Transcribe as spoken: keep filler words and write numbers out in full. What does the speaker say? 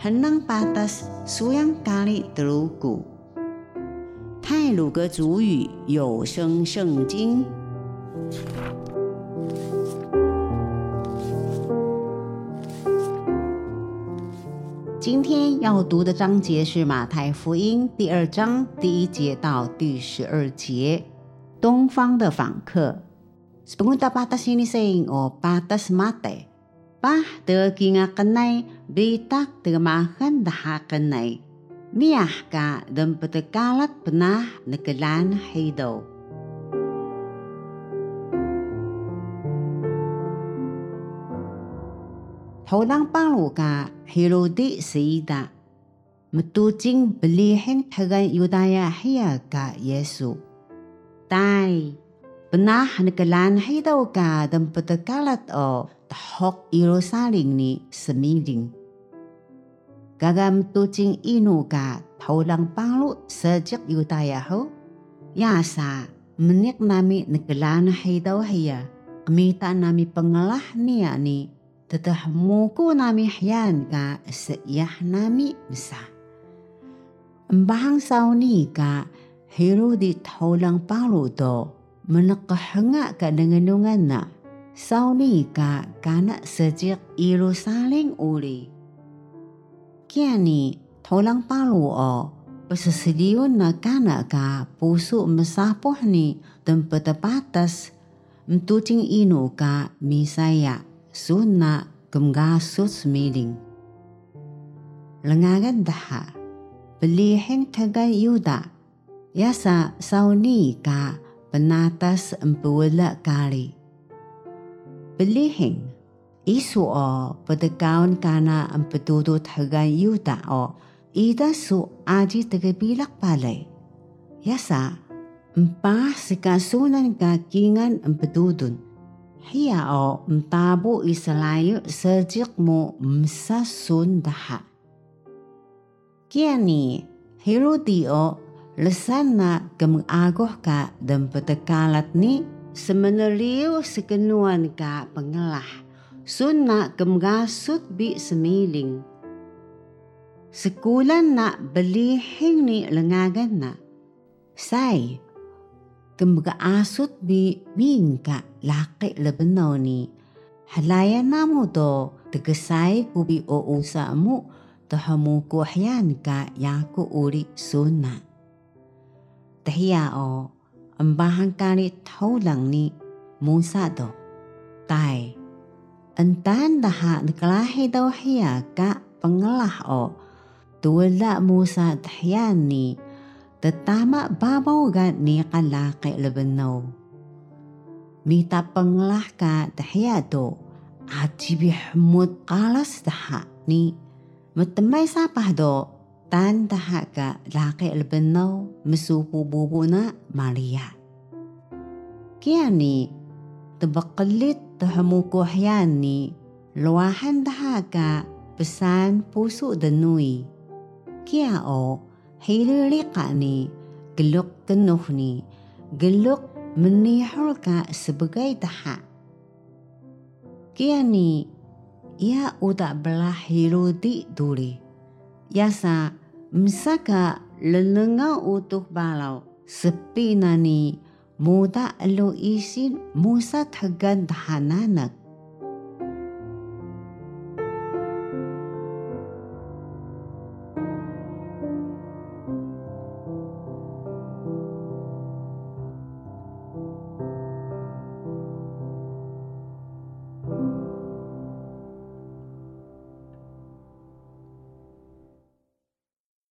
henang patas suyang kali telugu。太鲁阁主语有声圣经。今天要读的章节是马太福音第二章第一节到第十二节。东方的访客。Sepunta patas ini sing o patas mate. Pah de kinga kenai bitak de makan daha kenai. Miah ka dan petekalat penah nekelan hido. Tholang palu ka Herodi Sida. Metujing belihin tagan Yudaya hiya ka Yesu. Tai, penah nekelan hido ka dan petekalat o tahok Yerusalem ni semiling. Gagam tucing inu ka tholang palu sejak Yudaya ho. Yasa menik nami nekelan hido hiya. Kemita nami pengelah niya ni. Tetah muku nami hiyan ka seiyah nami besar. Embahang sauni ka Herodi tholang palu do menekahengak ka dengenungan na. Sauni ka kana sejak Yerusalem uli. Kiani tholang palu o pesesediun na kana ka pusu mesapoh ni dan petepatas mtucing inu ka misaya sunna gemgasut semiling. Lengagan daha belihin tagan Yuda. Yasa sauni ka penatas empewala kali. Belihin isu o pedekaun kana empetutu tagan Yuda o ida su aji tegebilak palay. Yasa empah sikasunan ka kingan empetudun. Hiya o mtabu isalayu sejak mo msasun daha. Kiani Herodi o lesan na kemagagoh ka dan petekalat ni semeneliu sekenuan ka pengelah sunna kemgasut bi semiling. Sekulan na belihin ni lengagan na. Say, kemgaasut bi bingka laki lebenaw ni. Halayan na mo do tegesay kubi o usa mo tahamukuhyan ka yaku uri sunna. Tahiya o, ang bahang kalit haulang ni Musa do. Tai, antan daha nakalahi daw hiya ka pengelah o. Tuwala Musa tahiyan ni, tatama babaw ga ni kalaki labanaw. Mita pengelah ka tahiya do, at sibihmut kalas daha ni, matamay sapah do, tan daha ka laki albanaw masupububo na Maria. Kaya ni, tabakalit tahamukuhyan ni, luwahan daha ka pesan puso danui. Kaya o, hilirika ni, geluk kenuh ni, geluk menihol ka sebagai daha. Kaya ni, ia udah belah Herodi duli. Yasa, Msaka lenenga utuh balau sepi nani muda alo isin Musa tagan tahananak.